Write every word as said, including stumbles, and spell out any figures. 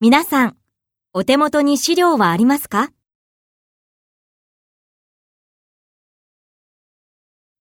皆さん、お手元に資料はありますか？